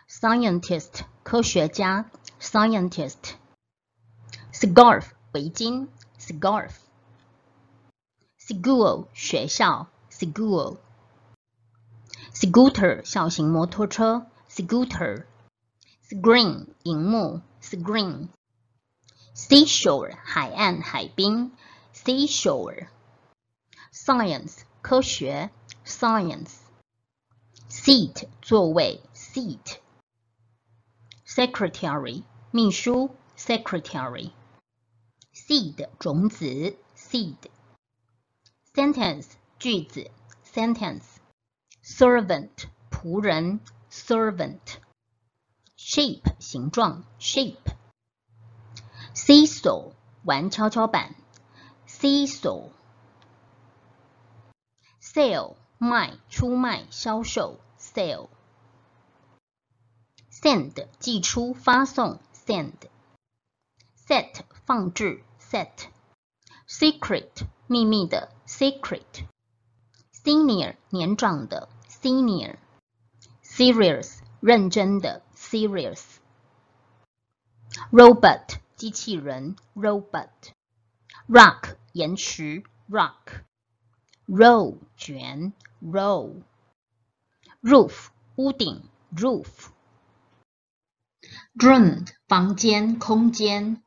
scientist 科学家 scientist。scarf 围巾 scarf。school 学校 school。scooter 小型摩托车 scooter。screen 萤幕 screen。seashore 海岸海滨 seashore。science 科学 science。seat 座位 seat。secretary 秘书 secretary。seed 种子 seed。sentence 句子 sentence。servant 仆人 servant。shape 形状 shape。seesaw 玩跷跷板 seesaw。sale 卖出卖销售 sale。send 寄出发送 send。set 放置 set。secret 秘密的 secret。senior 年长的 senior。serious 认真的 serious。robot 机器人 robot。rock 岩石 rock。roll 卷 roll。roof 屋顶 roof。room 房间空间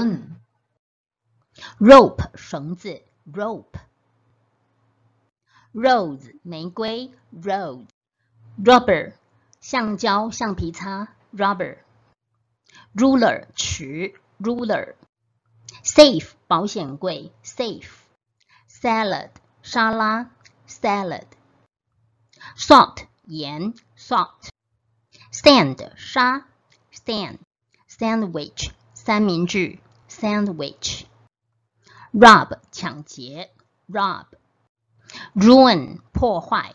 room。rope 绳子 rope。rose 玫瑰 rose。rubber 橡胶橡皮擦 rubber。ruler 尺 ruler。safe 保险柜 safe。salad 沙拉 salad。salt 盐 salt。sand 沙 sand。sandwich 三明治 sandwich。rob 抢劫 rob。ruin 破坏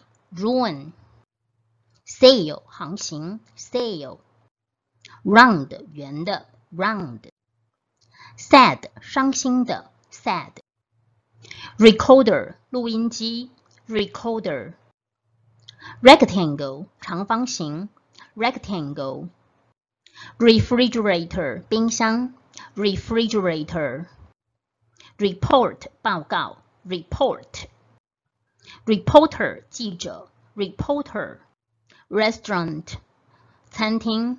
ruin。sail 航行 sail。round 圆的 round。sad 伤心的 sad。recorder 录音机 recorder。rectangle 长方形 rectangle。refrigerator 冰箱 refrigerator。report 报告 report。reporter 记者 reporter。restaurant 餐厅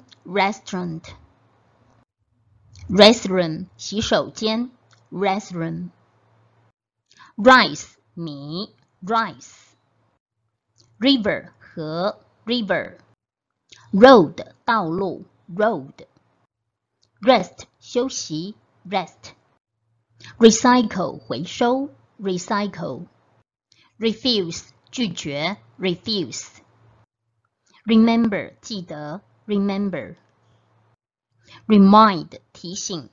restaurant。restroom 洗手间 restroom。rice 米 rice。river 河 river。road 道路 road。rest 休息 rest。recycle 回收 recycle。refuse 拒绝 refuse。remember 记得 remember。remind 提醒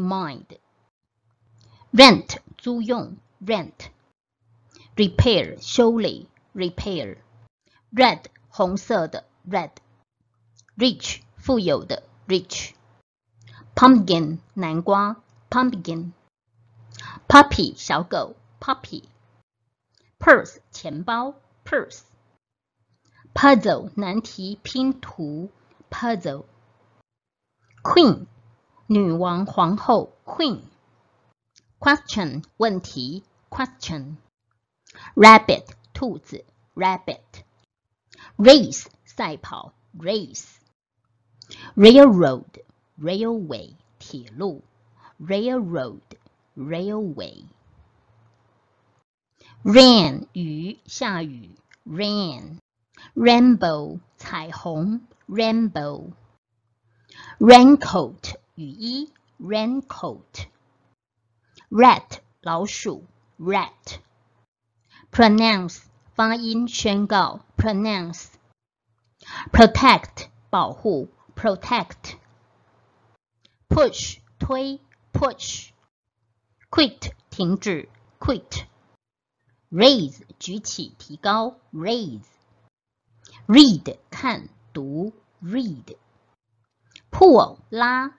remind。rent 租用 rent。repair 修理 repair。red 红色的 red。rich 富有的 rich。pumpkin 南瓜 pumpkin。puppy 小狗 puppy。purse 钱包 purse。puzzle 难题拼图 puzzle。queen 女王皇后 queen。question 问题 question。rabbit 兔子 rabbit。race 赛跑 race。railroad ，railway 铁路 ，railroad railway。rain 雨下雨 rain。rainbow 彩虹 rainbow。raincoat 雨衣 raincoat。rat 老鼠 rat。pronounce 发音宣告 pronounce。protect 保护 protect。push 推 push。quit 停止 quit。raise 举起提高 raise。read 看读 read。pull 拉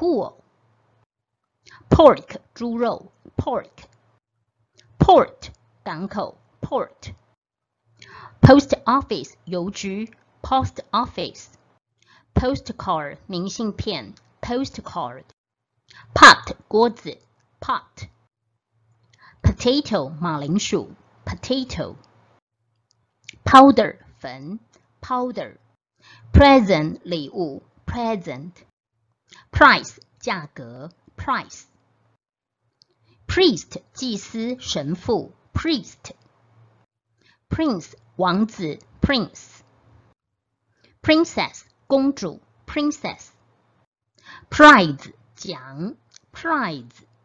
pull。pork 猪肉 pork。port 港口 port。post office 邮局 post office。 postcard 明信片 postcard pot 锅子 pot potato 马铃薯 potato powder 粉 powder present 礼物 present price 价格 price priest 祭司神父 priest prince 王子 prince princess 公主 princess prize 奖 prize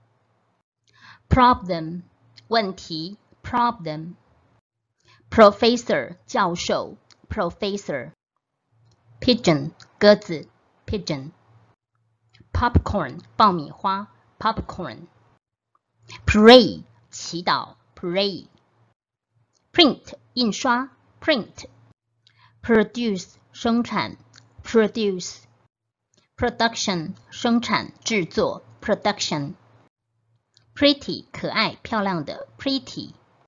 problem 问题 problem professor 教授 professor pigeon 鸽子 pigeon popcorn 爆米花 popcorn pray 祈祷 pray print 印刷 print produce 生产 produce production 生产制作 production pretty 可爱漂亮的 pretty